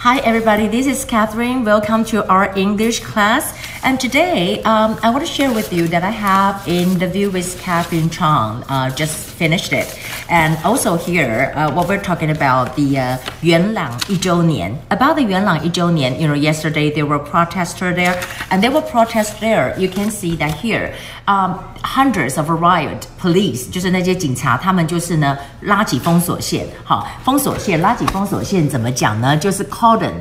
Hi everybody, this is Catherine. Welcome to our English class. And today, I want to share with you that I have an interview with Catherine Chang. Just finished it. And also here, what we're talking about the 元朗一周年. About the 元朗一周年, yesterday there were protesters there, and there were protests there. You can see that here, hundreds of riot police, 就是那些警察，他们就是呢拉起封锁线。好，封锁线拉起封锁线怎么讲呢？就是 cordon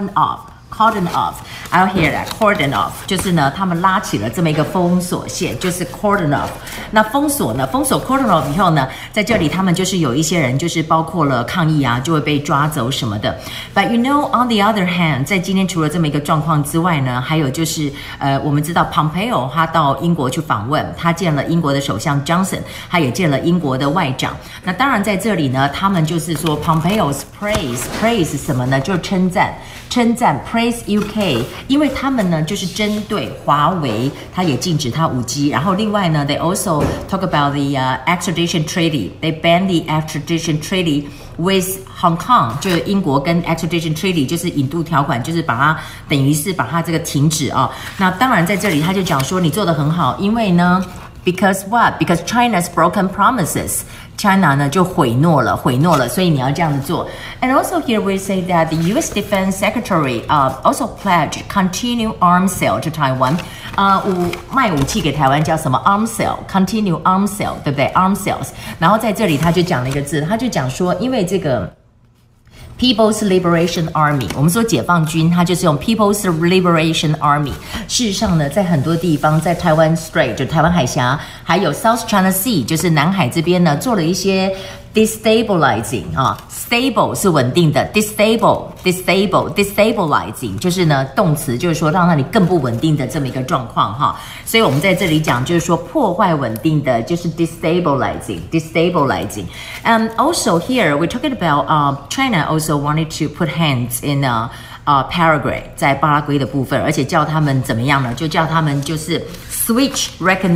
off. I'll hear that cordon off 就是呢，他们拉起了这么一个封锁线，就是 cordon off。那封锁 cordon off 以后呢，在这里他们就是有一些人就是包括了抗议啊，就会被抓走什么的。But on the other hand， 在今天除了这么一个状况之外呢，还有就是我们知道 Pompeo 他到英国去访问，他见了英国的首相 Johnson， 他也见了英国的外长。那当然在这里呢，他们就是说 Pompeo's praise 什么呢？就是称赞 praise UK， 因为他们呢就是针对华为，他也禁止它5G。然后另外呢 ，they also talk about the extradition treaty. They ban the extradition treaty with Hong Kong， 就是英国跟 extradition treaty 就是引渡条款，就是把它等于是把它这个停止啊。那当然在这里他就讲说你做得很好，因为呢 ，because what? Because China's broken promises.China 呢就毁诺了，所以你要这样子做。And also here we say that the U.S. Defense Secretary also pledged continue arms sale to Taiwan. 卖武器给台湾叫什么 arms sale, continue arms sale， 对不对 ？arms sales。然后在这里他就讲了一个字，他就讲说，因为这个。People's Liberation Army， 我们说解放军，它就是用 People's Liberation Army。事实上呢，在很多地方，在台湾 Strait 就台湾海峡，还有 South China Sea 就是南海这边呢，做了一些 destabilizing 啊 ，stable 是稳定的 ，destabilizing 就是呢动词，就是说让你更不稳定的这么一个状况哈。所以我们在这里讲就是说破坏稳定的，就是 destabilizing。And also here we're talking about China also wanted to put hands in Paraguay 在巴拉圭的部分，而且叫他们怎么样呢？就叫他们就是 switch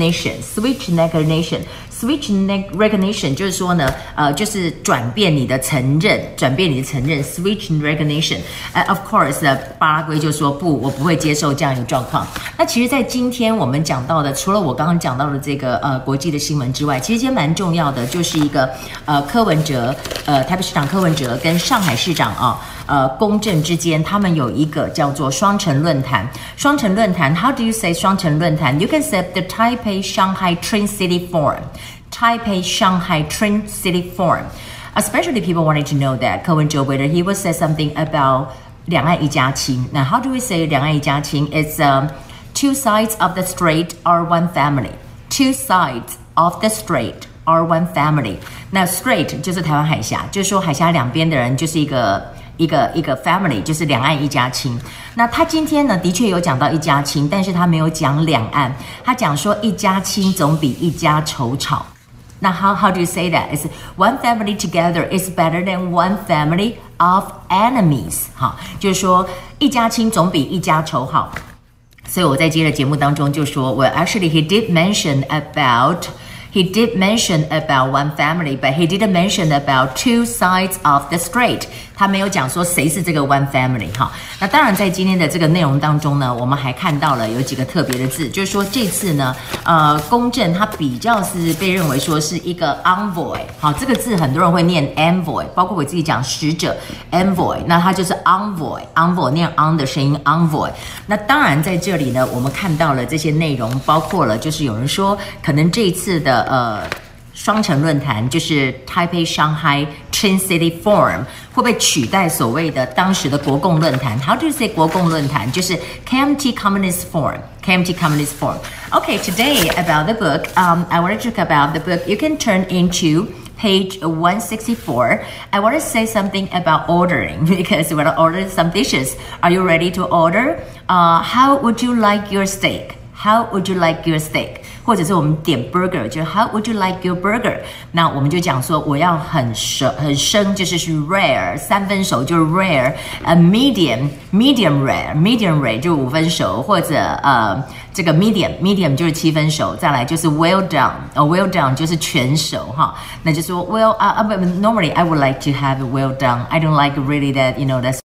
recognition 就是说呢，就是转变你的承认 switch recognition。Of course， 巴拉圭就说不，我不会接受这样一个状况。那其实，在今天我们讲到的，除了我刚刚讲到的这个国际的新闻之外，其实今天蛮重要的，就是一个柯文哲台北市长柯文哲跟上海市长公正之间，他们有一个叫做双城论坛。双城论坛 ，How do you say 双城论坛 ？You can say the Taipei Shanghai Twin City Forum。Taipei Shanghai Twin City Forum. Especially people wanted to know that 柯文哲 whether he would say something about 两岸一家亲。Now, how do we say 两岸一家亲? It's two sides of the strait are one family. Two sides of the strait are one family. 那 strait 就是台湾海峡，就是说海峡两边的人就是一个 family， 就是两岸一家亲。那他今天呢，的确有讲到一家亲，但是他没有讲两岸，他讲说一家亲总比一家仇吵。那 how do you say that? It's one family together is better than one family of enemies. 好，就是说一家亲总比一家仇好。所以我在今天的节目当中就说 ，Well, actually he did mention about one family, but he didn't mention about two sides of the strait. 他没有讲说谁是这个 one family 哈。那当然在今天的这个内容当中呢，我们还看到了有几个特别的字，就是说这次呢，公正它比较是被认为说是一个 envoy， 好，这个字很多人会念 envoy， 包括我自己讲使者 envoy， 那它就是 envoy 念 on 的声音 envoy。那当然在这里呢，我们看到了这些内容，包括了就是有人说可能这一次的双城论坛就是 Taipei Shanghai Twin City Forum 会被取代所谓的当时的国共论坛 How do you say 国共论坛？就是 KMT Communist Forum Okay, today about the book, I want to talk about the book. You can turn into page 164. I want to say something about ordering because we're going to order some dishes. Are you ready to order? How would you like your steak? 或者是我们点 burger， 就 How would you like your burger？ 那我们就讲说我要很生，就是 rare， 3分熟就是 rare，medium rare 就5分熟，或者这个 medium 就是7分熟，再来就是 well done，well done 就是全熟哈，那就说 normally I would like to have it well done. I don't like really that that's